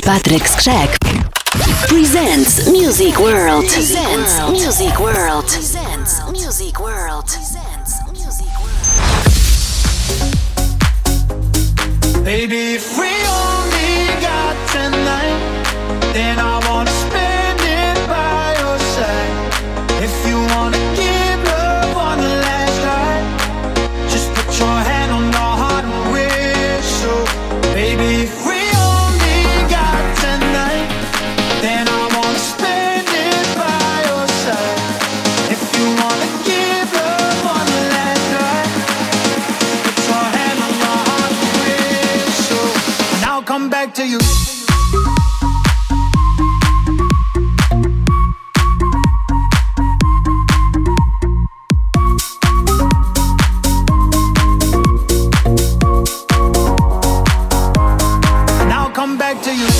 Patryk Skrzek presents Music World. Presents Music World. Presents Music World. Baby, if we only got tonight, then I wanna spend it by your side. If you wanna give love on the last ride, just put your hand on your heart and wish so. Baby, if we only got tonight, then I wanna spend it by your side. If you wanna give love on the last ride, put your hand on your heart and wish so. And I'll come back to you. Back to you.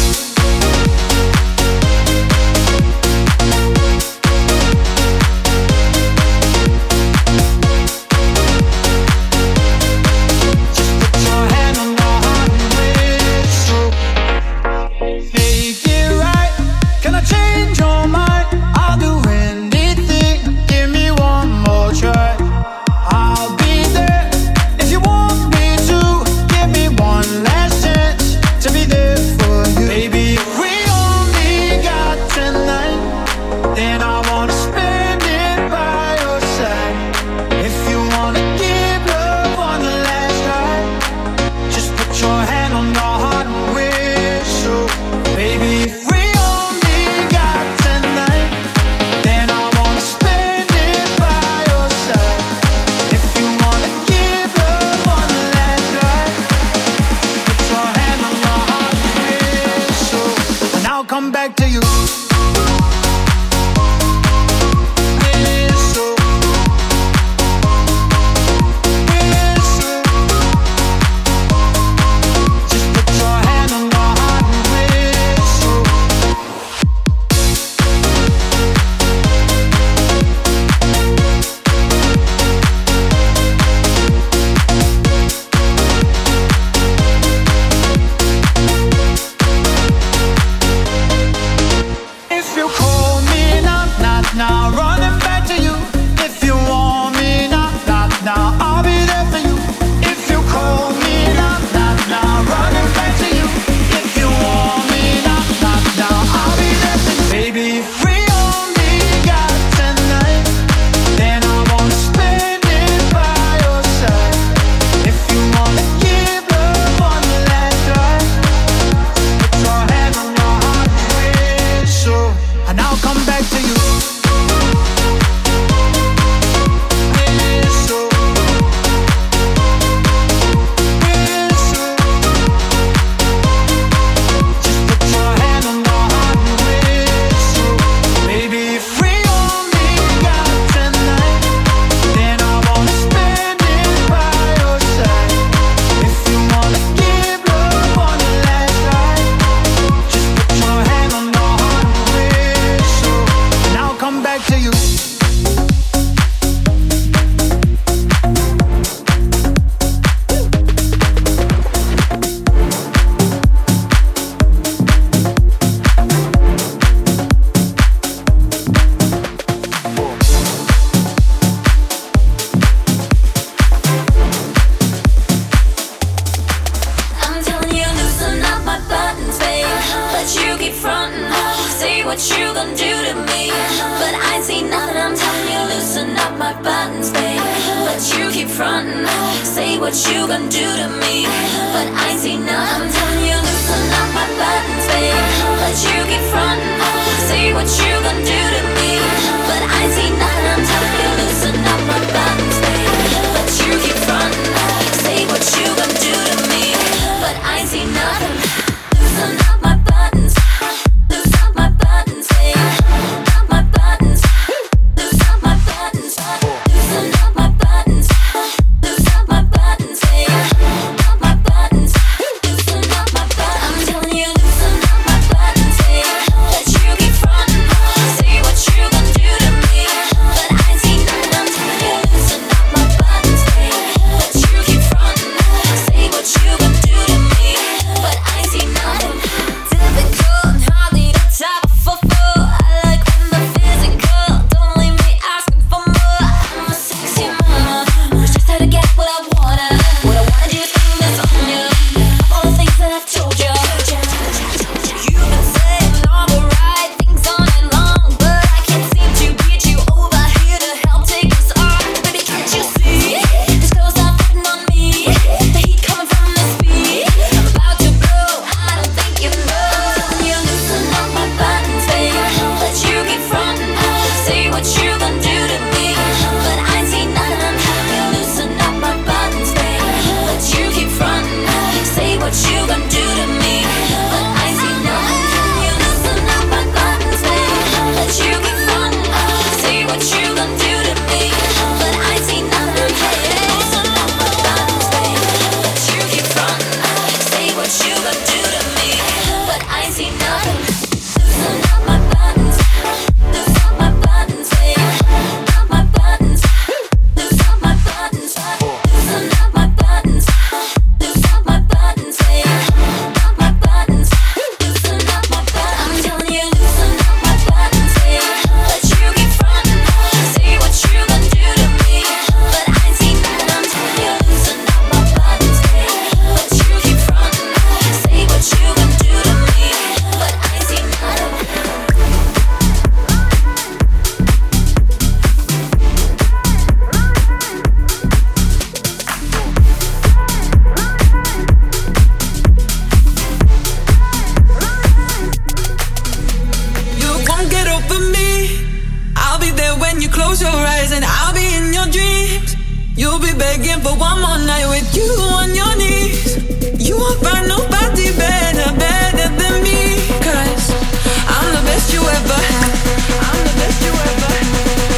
begging for one more night with you on your knees. You won't find nobody better, better than me. 'Cause I'm the best you ever had. I'm the best you ever had.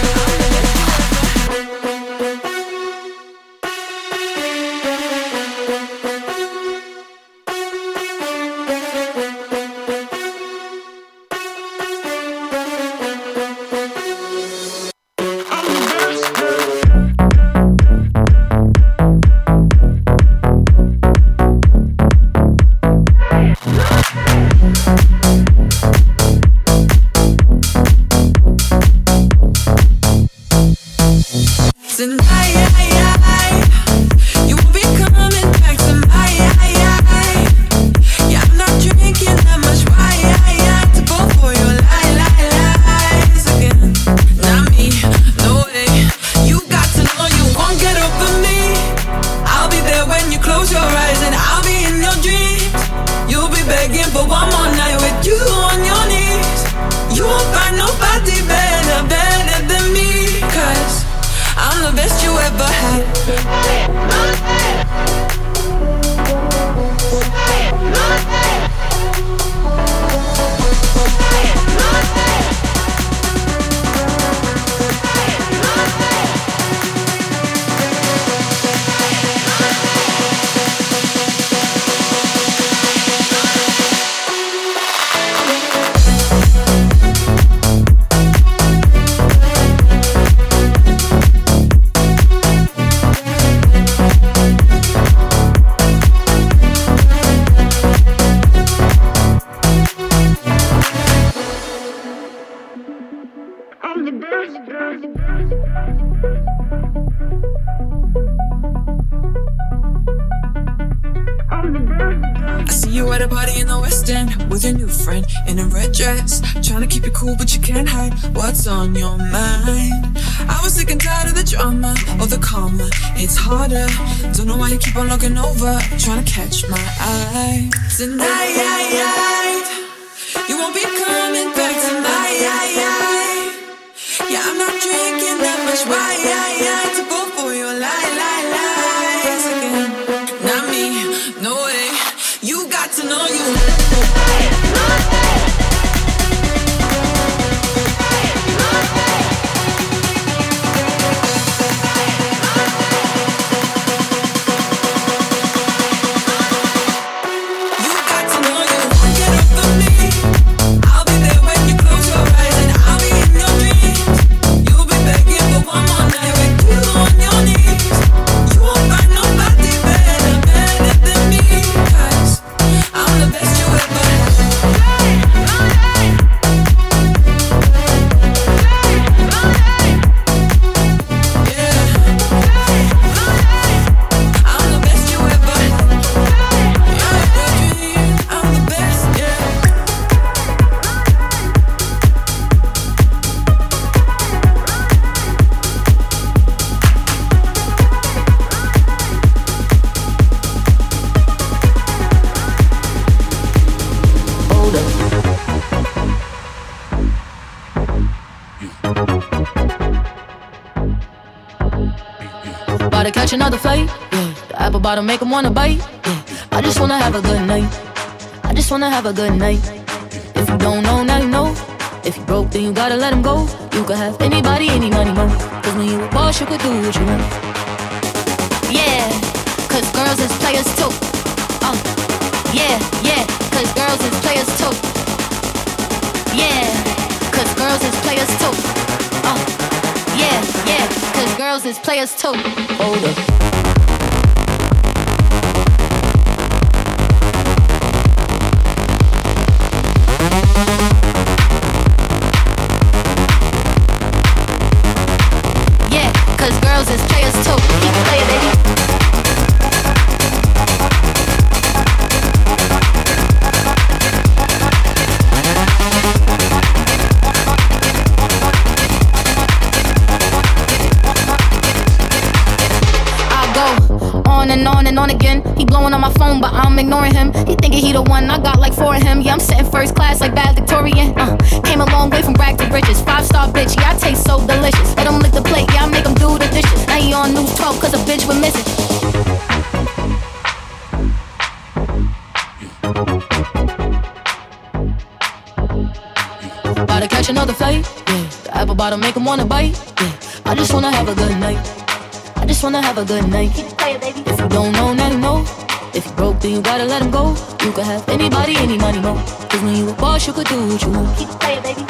What's on your mind? I was sick and tired of the drama, or the karma. It's harder. Don't know why you keep on looking over, trying to catch my eye. Tonight, you won't be coming back tonight. Yeah, I'm not drinking that much wine to go for your lies again. Not me, no way. You got to know you. Another flight, yeah. The apple bottom make them wanna bite, yeah. I just wanna have a good night. I just wanna have a good night. If you don't know, now you know. If you broke, then you gotta let him go. You could have anybody, any money, mo. Cause when you a boss, you could do what you want. Yeah, cause girls is players too. Yeah, cause girls is players too. Yeah, cause girls is players too. Yeah, cause girls is players too. Hold up. Yeah, cause girls is players too. Keep it playing, baby. And on again. He blowing on my phone, but I'm ignoring him. He thinking he the one, I got like 4 of him. Yeah, I'm sitting first class like bad Victorian. Came a long way from rag to riches. 5-star bitch, yeah, I taste so delicious. Let him lick the plate, yeah, I make him do the dishes. Now he on news 12 cause a bitch we're missing. About to catch another flight, yeah. The apple bottom make 'em wanna bite, yeah. I just wanna have a good night. I just wanna have a good night. Keep it playing, baby. If you don't know, now you know. If you broke, then you gotta let him go. You could have anybody, any money, mo. Cause when you a boss, you could do what you want. Keep it playing, baby.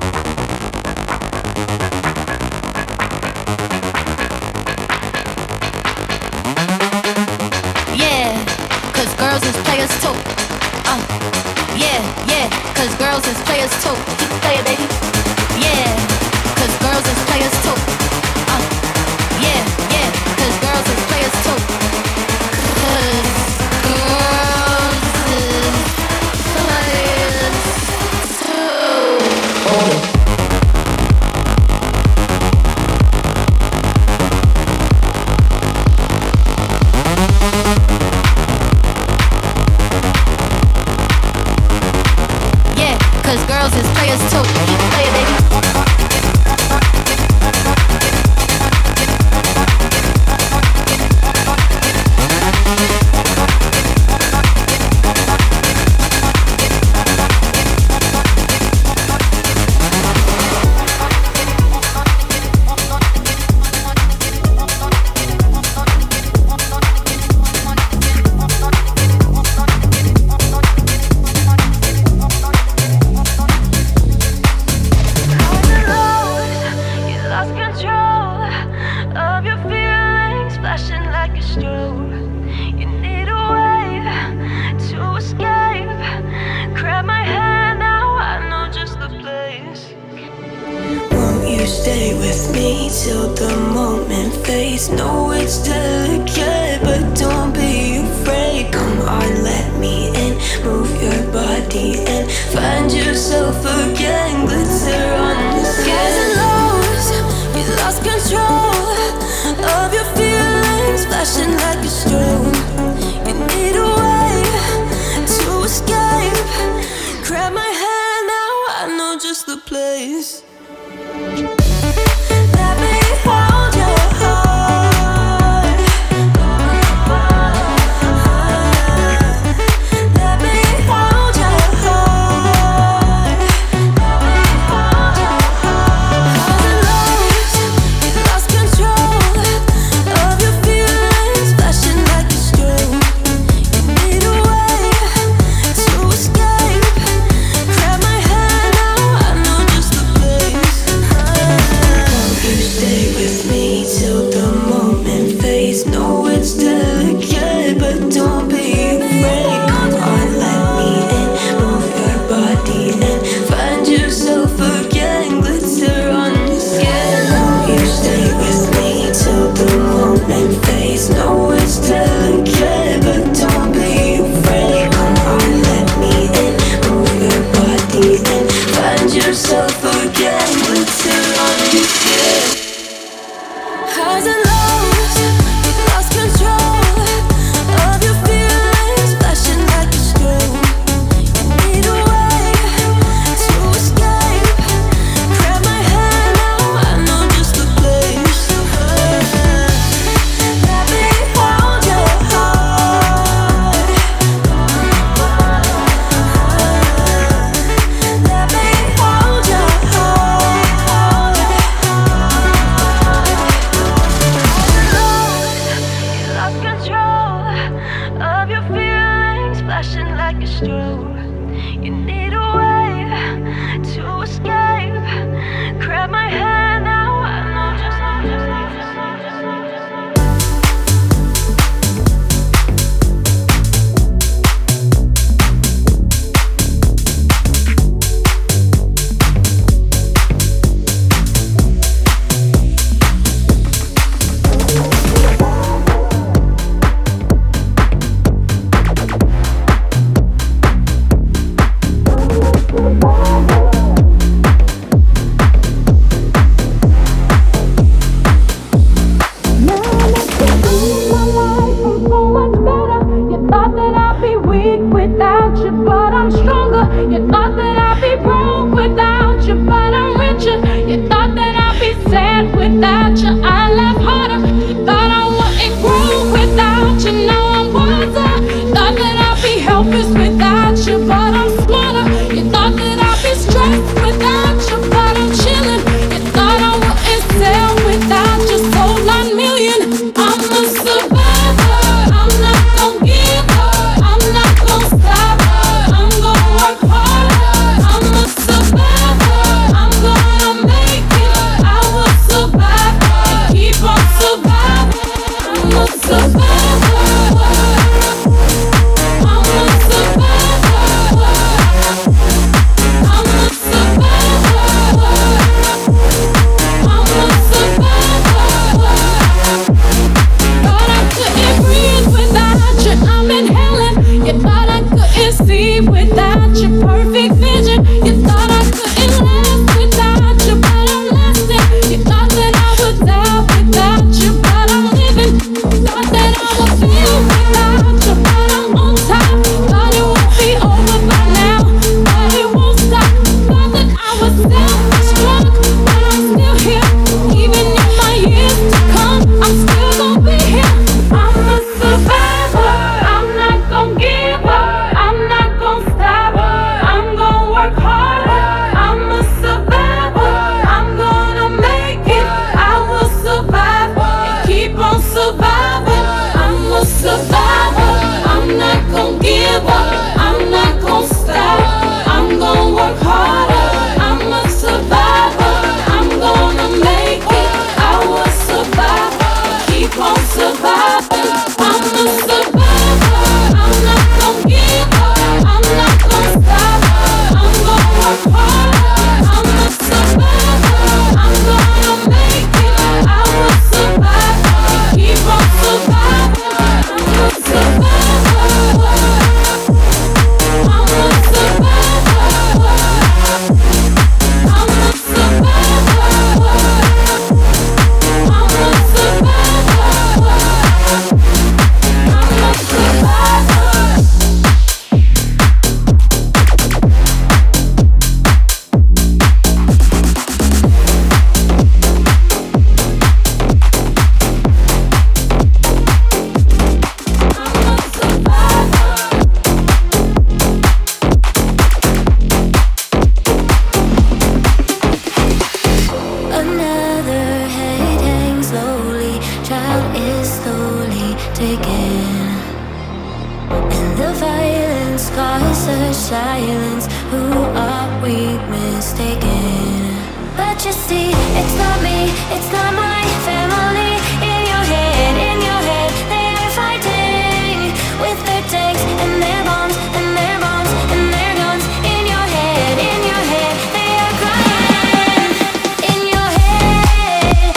Yeah, cause girls is players too. Yeah, yeah, cause girls is players too. Keep it playing, baby. Yeah, cause girls is players too. Yeah, yeah, cause girls is players too. Cause girls is players too. Yeah, cause girls is players too. Keep it playing, baby. Stay with me till the moment fades. No, it's delicate, but don't be afraid. Come on, let me in. Move your body and find yourself again. Glitter on the skin. You lost control of your feelings, flashing like a strobe. You need a way to escape. Grab my hand now, I know just the place. Let me hold your heart. Let me hold your heart. You lost control of your feelings, flashing like a strobe. You need a way to escape. Grab my hand now, I know just the place. You stay with me till the moment fades. No, it's delicate, but don't be afraid. Come on, let me in. Move your body and find yourself again. Glitter on your skin. You stay with me till the moment fades. No, it's delicate, but don't be afraid. Come on, let me in. Move your body and find yourself again. Glitter on your skin. Highs and lows, you lost control of your feelings, flashing like a strobe. You need a way to escape. Grab my hand now, I know just the place. Let me hold your heart. Let me hold your heart. You lost control of your feelings, flashing like a strobe. You need a way to escape. Grab my hand now, I know just without you, I laugh harder. You thought I wouldn't grow. we mistaken? But you see, it's not me, it's not my family. In your head, they are fighting with their tanks and their bombs and their bombs and their guns. In your head, they are crying. In your head,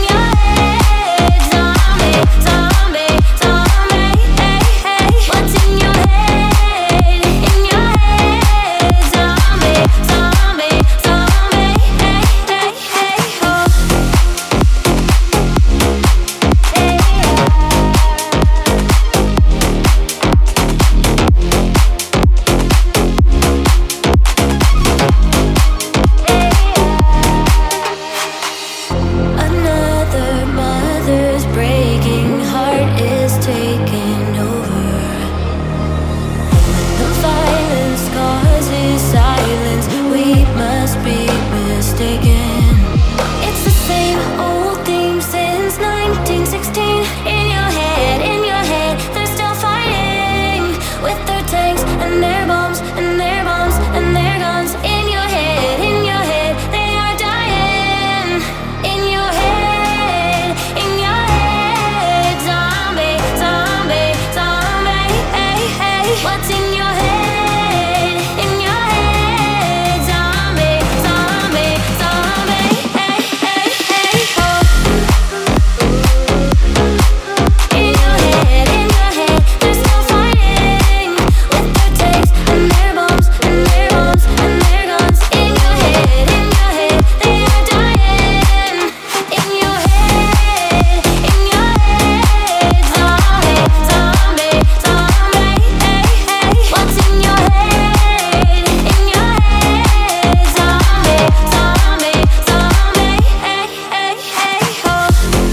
zombie, zombie, zombie. Hey, hey. What's in your head? In your head, zombie, zombie, zombie. Hey, hey, hey, oh. Another mother's breaking heart is taking over. The violence causes silence. We must be mistaken. It's the same old theme since 1916. In your head, they're still fighting with their tanks and their bombs and their bombs and their guns. In your head, they are dying. In your head, zombie, zombie, zombie. Hey, hey. What's in your head? In your head, zombie, zombie, zombie. Hey, hey, hey, oh. In your head, they're still fighting with their tanks and their bombs and their bombs and their guns. In your head, they are dying. In your head, zombie, zombie, zombie. Hey, hey. What's in your head? In your head, zombie, zombie, zombie. Hey, hey, hey, oh.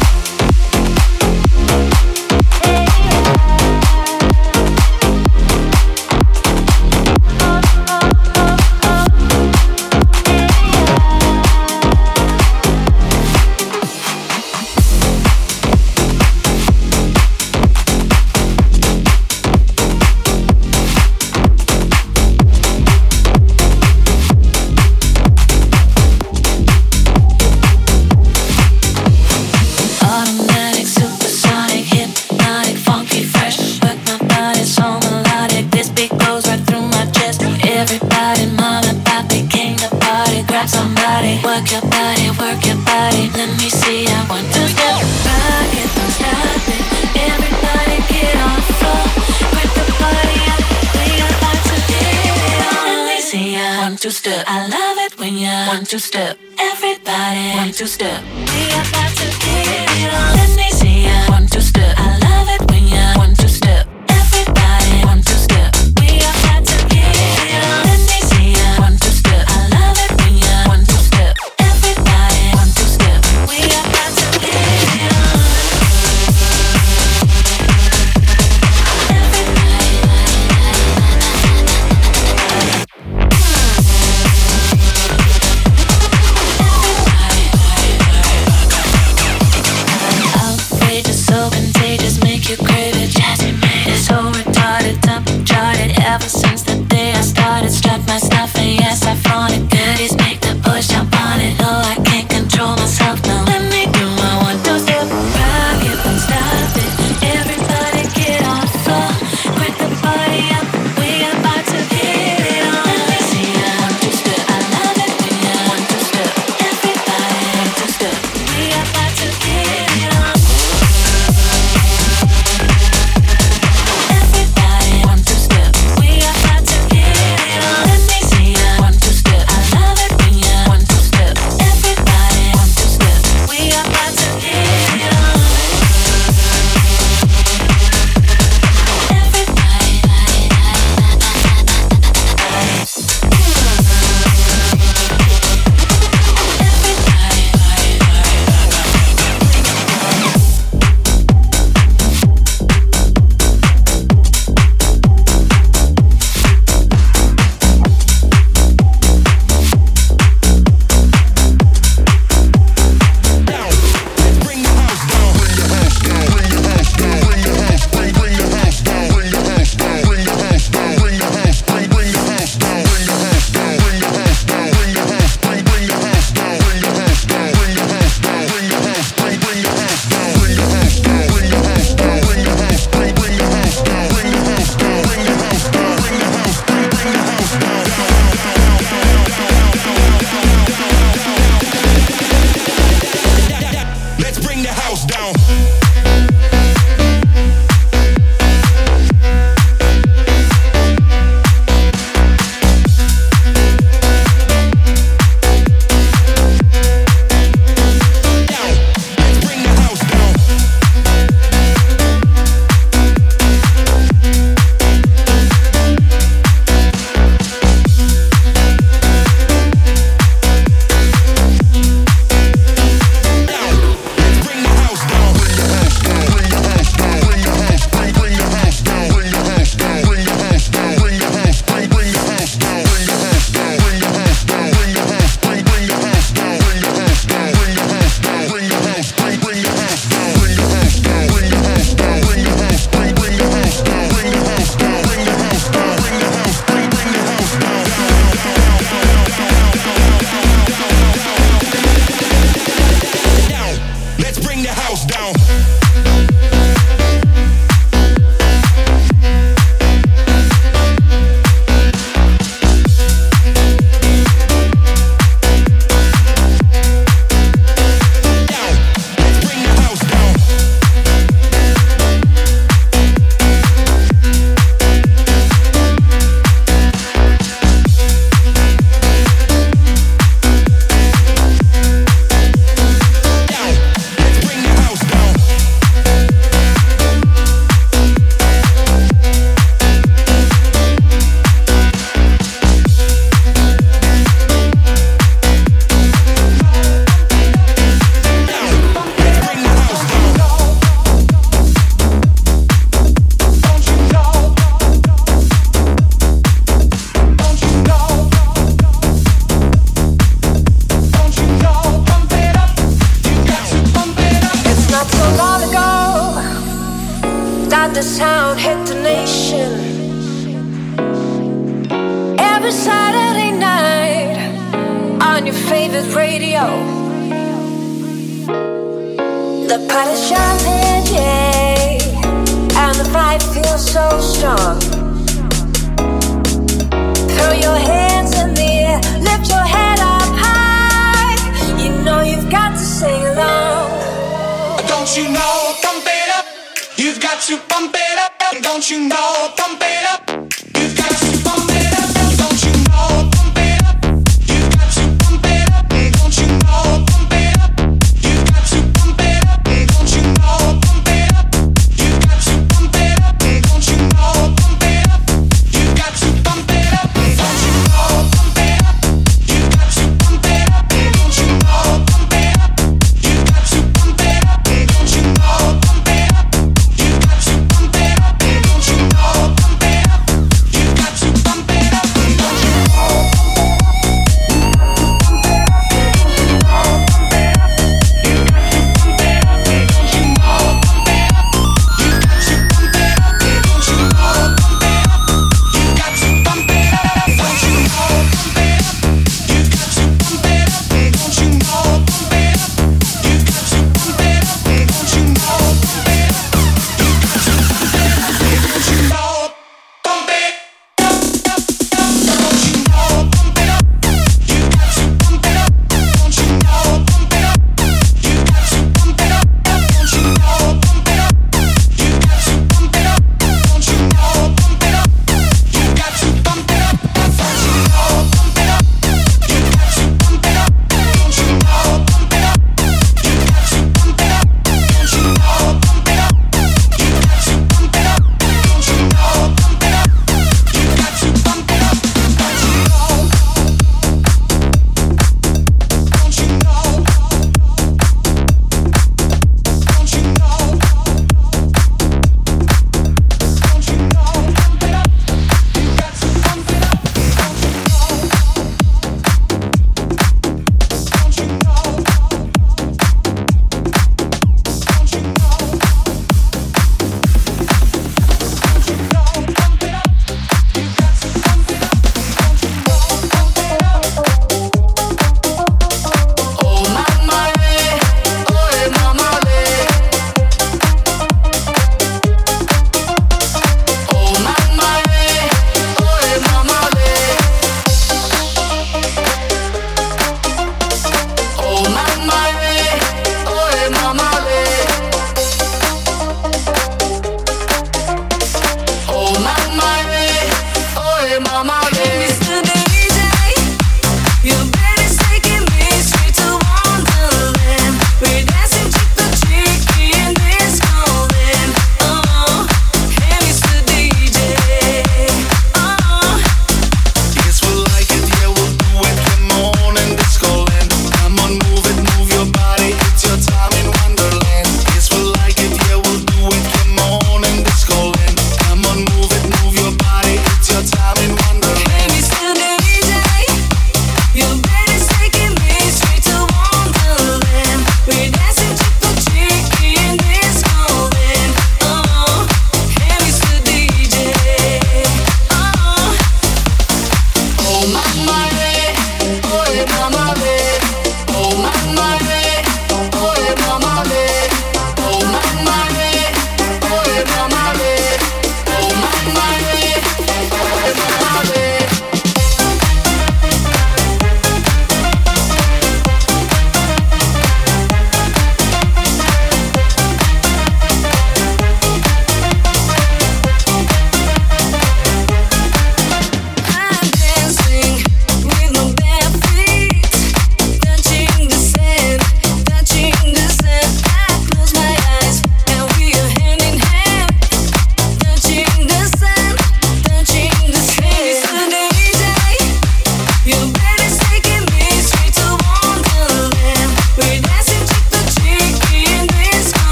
Automatic, supersonic, hypnotic, funky, fresh. Work my body so melodic. This beat goes right through my chest. Everybody, mama, papi, came to party. Grab somebody, work your body, work your body. Let me see, I want to step back it, don't stop it. Everybody get on the floor. Grab the party up, we about to get it on. Let me see, I want to step. I love it when you want to step. Everybody want to step. We about to get it on. Let me see, I want to step. I love it when you want to step. Everybody want to step. We about to get it on. Let me see, I want to step. I love it when you want to step. Everybody want to step. We about to get it on. Outrageous, so contagious, make you crave it. Jazzy made it, so retarded, top charted. Ever since the day I started, strut my stuff and yes, I flaunt it. Goodies make the push jump on it. No, I can't control myself, no. Let me do my one, two step. Rock it, don't stop it. Everybody get on the floor. Quit the party up, we about to get it on. Let me see, I want to step. I love it when you want to step. Everybody want to step. We about to get it on. Everybody want to step. We about to get it on. Let me see, I Velvet Radio. The party's jumping, yeah, and the vibe feels so strong. Throw your hands in the air, lift your head up high. You know you've got to sing along. Don't you know, pump it up. You've got to pump it up. Don't you know, pump it up. You've got to pump it up. Don't you know, pump it up. You've got to pump it up. Don't you know, pump it up. You've got to pump it up. Don't you know, pump it up. You've got to pump it up. Don't you know, pump it up. You've got to pump it up. Don't you know, pump it up. You've got to pump it up. Don't you know, pump it up. You've got to pump it up. Don't you know, pump it up. You've got to pump it up. Don't you know, pump it up. You've got to pump it up. Don't you know,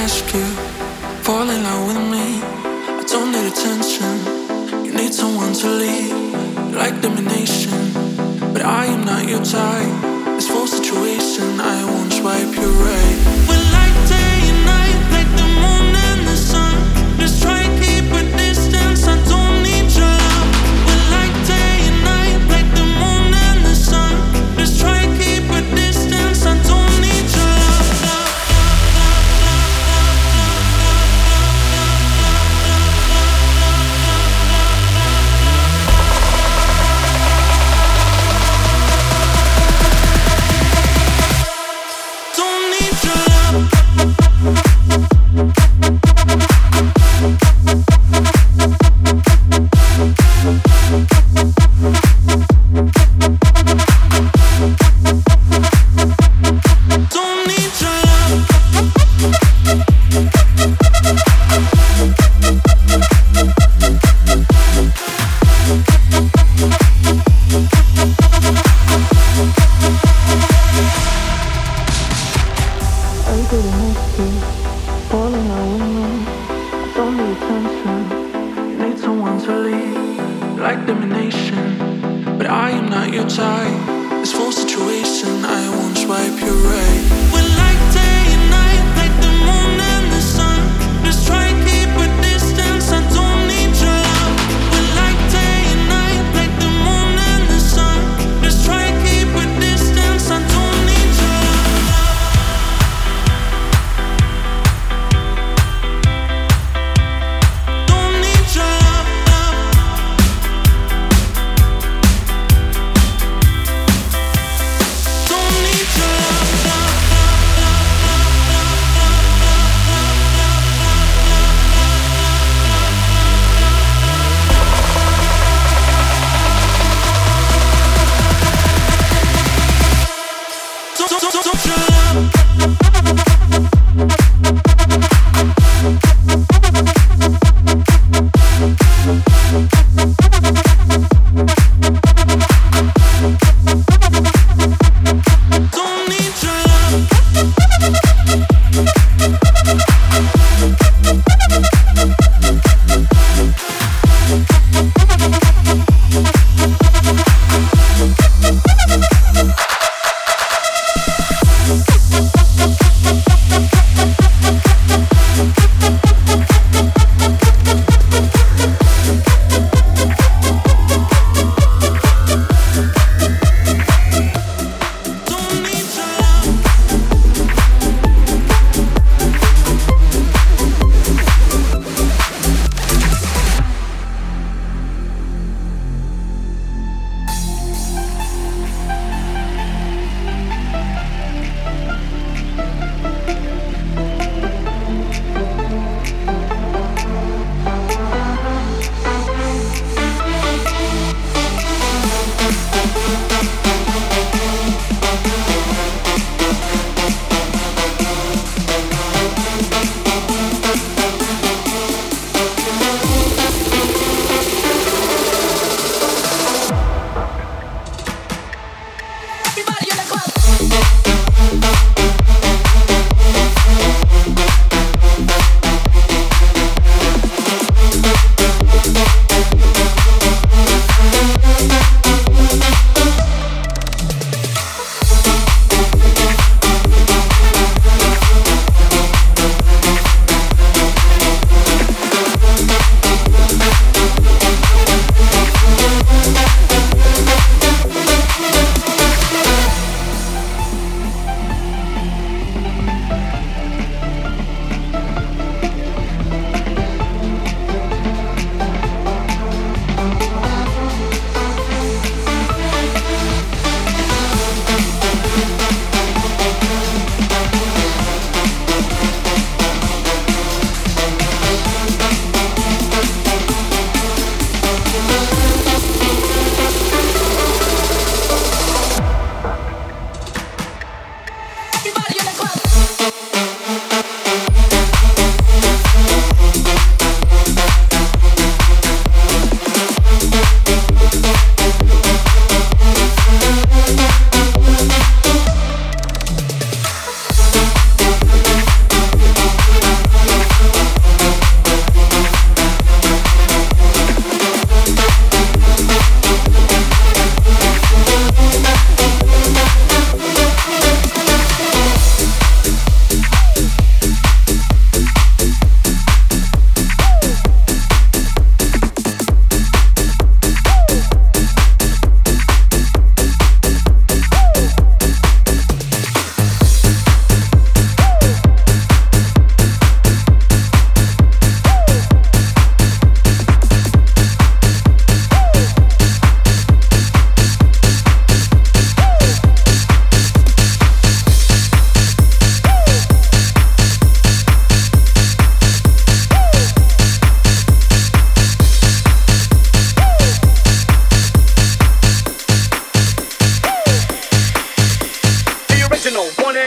ask you, fall in love with me. I don't need attention, you need someone to lead. You like domination, but I am not your type. This full situation, I won't swipe you right. We're like day and night, like the moon and the sun. Just try and keep a distance, I don't need your love. We're like day and night, like the moon and the sun. Just try and keep a distance, I don't need your love. Don't need your love.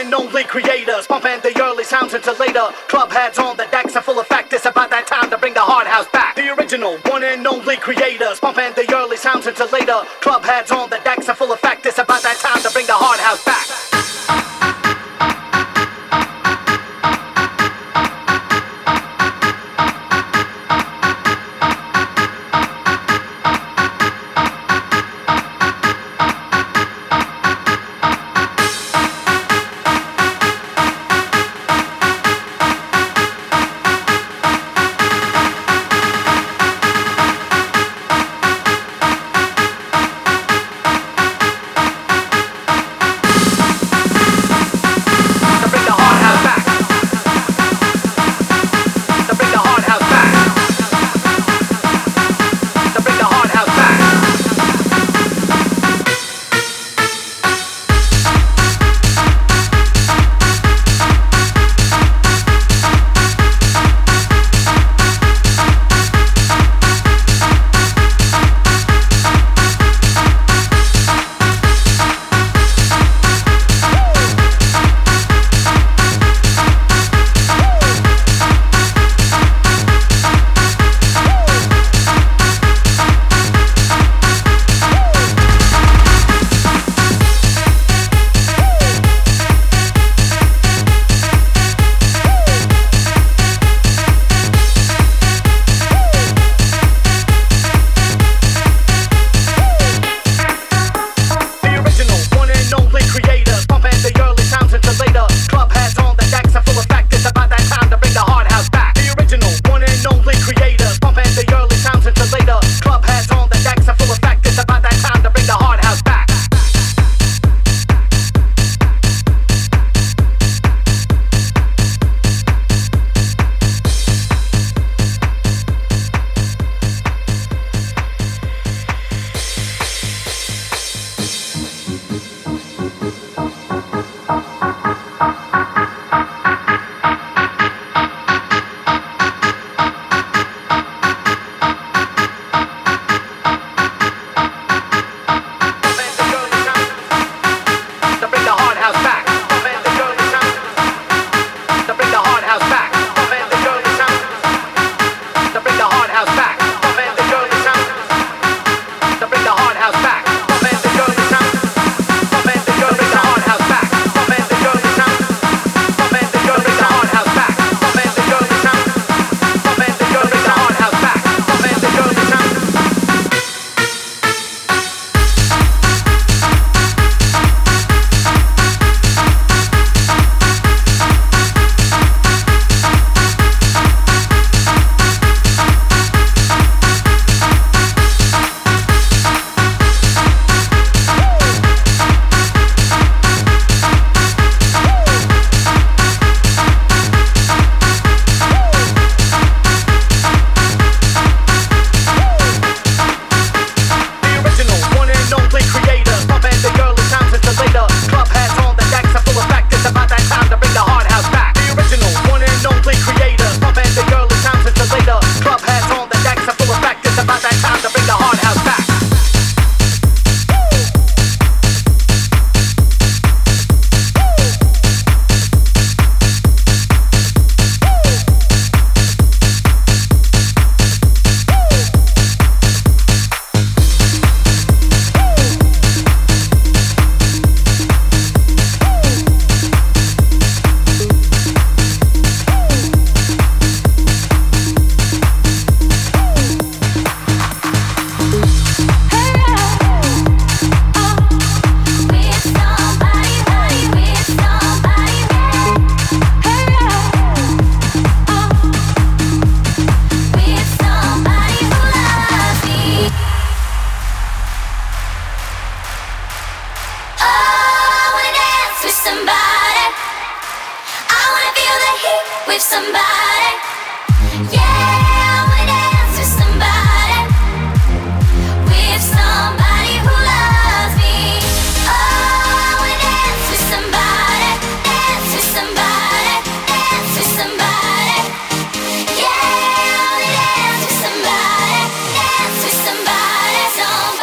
and only creators, pumping the early sounds until later. Club heads on the decks are full effect. It's about that time to bring the hard house back. The original one and only creators, pumping the early sounds until later. Club heads on the decks are full effect. It's about that time to bring the hard house back.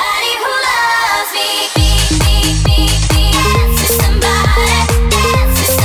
Somebody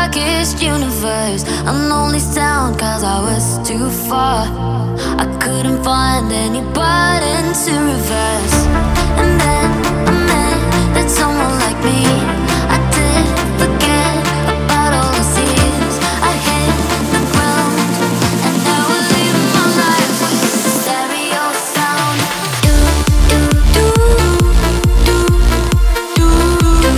darkest universe. An only sound cause I was too far. I couldn't find any button to reverse. And then I met that someone like me. I did forget about all the years. I hit the ground and now we're living my life with stereo sound. Do do do do do do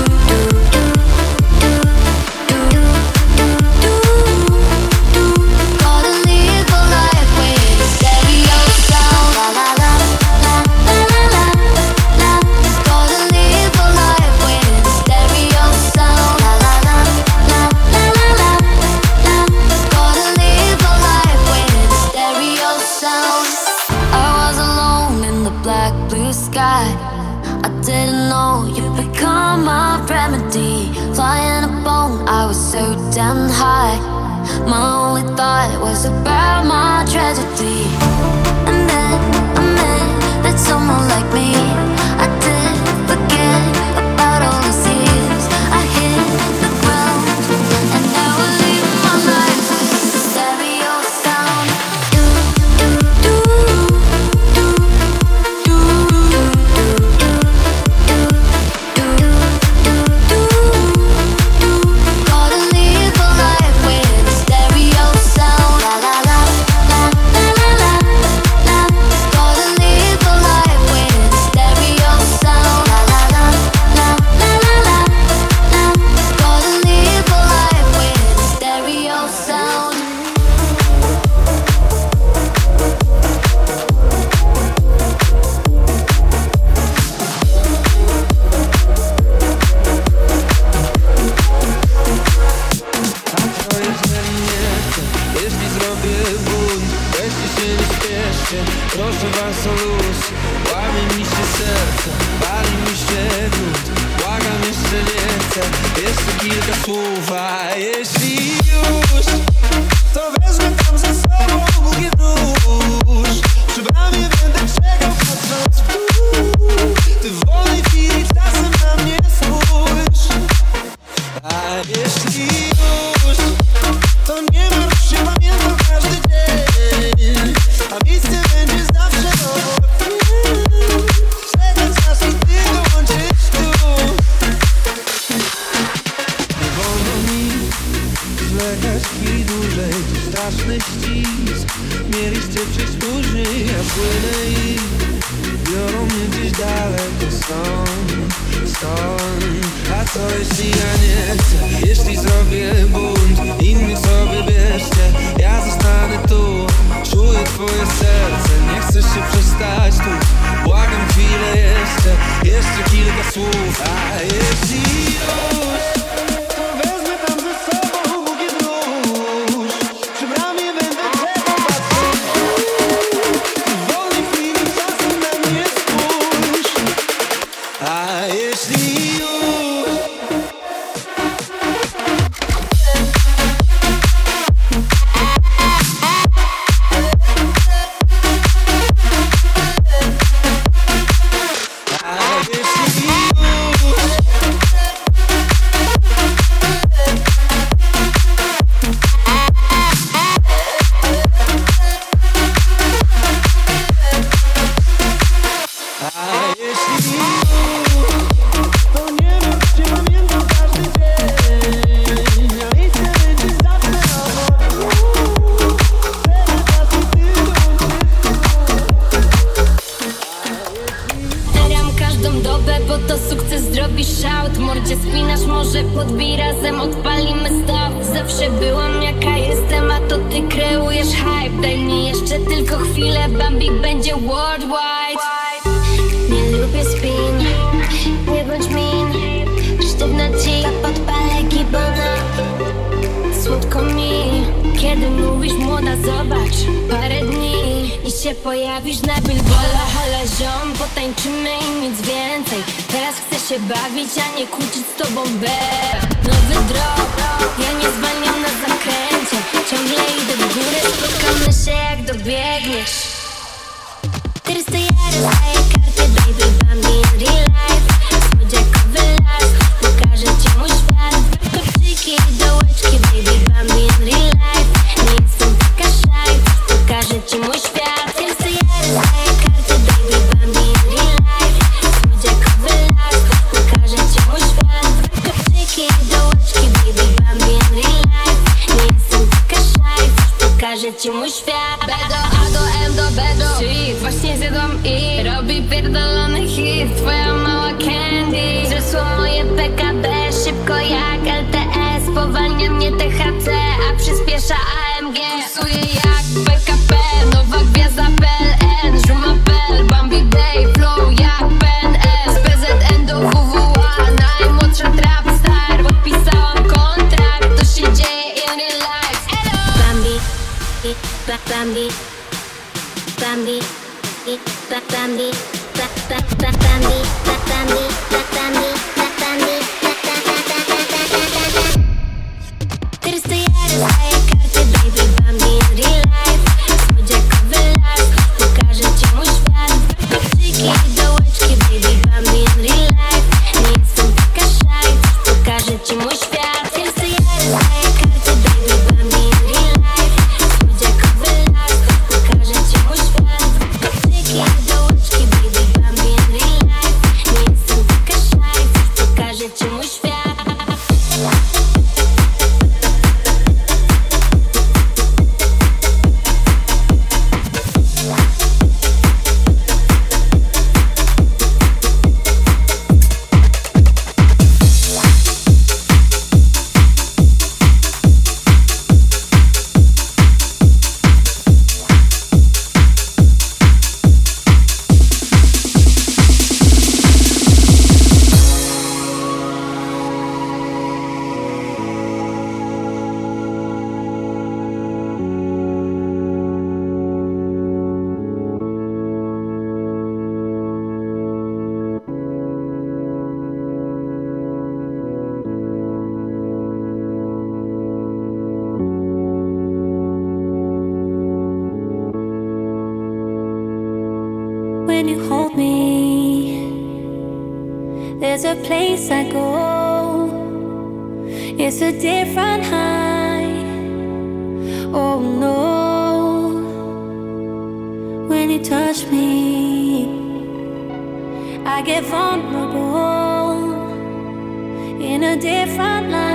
do. Gotta live a life with stereo sound. La la la la la la la. Gotta live a life with stereo sound. La la la la la la la. Gotta live a life with stereo sound. I was alone in the black blue sky. I didn't know you'd become my remedy. Flying a bone, I was so damn high. My only thought was about my tragedy. And then I met that someone like me. I did forget about all the years. I hit the ground and now we're living my life with stereo sound. Do do do do do do. Gotta live a life with stereo sound. La la la la la la la. Gotta live a life with stereo sound. La la la la la la la. Gotta live a life with stereo sound. A co jest we mnie? Jeśli zrobię bunt, weźcie się nie śpieszcie. Proszę was o luz. Łamie mi się serce, pali mi się grunt. Błagam, jeszcze nie chcę. Jeszcze kilka słów, a jeśli już, to wezmę tam ze sobą bukiet róż. Przy bramie będę czekał, patrząc w dół. Ty w wolnej chwili czasem na mnie spójrz. A jeśli już, to nie martw się, pamiętam każdy dzień. A miejsce będzie zawsze obok mnie. Czekać aż i ty dołączysz tu. Nie wolno mi zwlekać chwili dłużej. To straszny ścisk, mieliście przysłuży. Ja płynę i biorą mnie gdzieś daleko stąd. A co jeśli ja nie chcę? Jeśli zrobię bunt, inni sobie bierzcie. Ja zostanę tu, czuję twoje serce. Nie chcesz się przestać tu. Błagam chwilę jeszcze, jeszcze kilka słów. A jeśli już, to wezmę tam ze sobą bukiet róż. Przy bramie będę czekał, patrząc w dół. W wolnej chwili czasem na mnie spójrz. A jeśli już, podbij razem, odpalimy stop. Zawsze byłam jaka jestem, a to ty kreujesz hype. Daj mi jeszcze tylko chwilę, Bambi będzie worldwide. Nie lubię spin, nie bądź min. Sztywna ci, podpalę gibona. Słodko mi, kiedy mówisz młoda, zobacz. Parę dni i się pojawisz na billboardach. Hala ziom, potańczymy i nic więcej. Teraz chcę się bawić, a nie kłócić z tobą, nowy drop, ja nie zwalniam na zakręcie. Ciągle idę w górę, spotkamy się jak dobiegniesz. Teraz to ja rozdaję kartę, baby, Bambi in real life. Słodziakowy las, pokażę ci mój świat. Kopczyki i dołeczki. pierwsza AMG. Kursuję jak PKP, nowa gwiazda PLN. Żumapel, Bambi Day, flow jak PNL. Z PZN do WWA, najmłodsza trap star. Podpisałam kontrakt, to się dzieje in real life. Bambi, Bambi, Bambi, Bambi, Bambi, Bambi, Bambi. Ты расстояние своей карты, baby, Bambi in real life. Słodziakowy las, pokażę ci mój świat. Chłopczyki i dołeczki, baby, Bambi in real life. Nie jestem taka shy, pokażę ci mój świat. Ty rastojary swoje karty, baby, Bambi in real life. Słodziakowy las, pokażę ci mój świat. Chłopczyki i dołeczki, baby, Bambi in real life. Nie jestem taka shy, pokażę ci mój świat. When you hold me, there's a place I go. It's a different high. Oh no. When you touch me, I get vulnerable in a different light.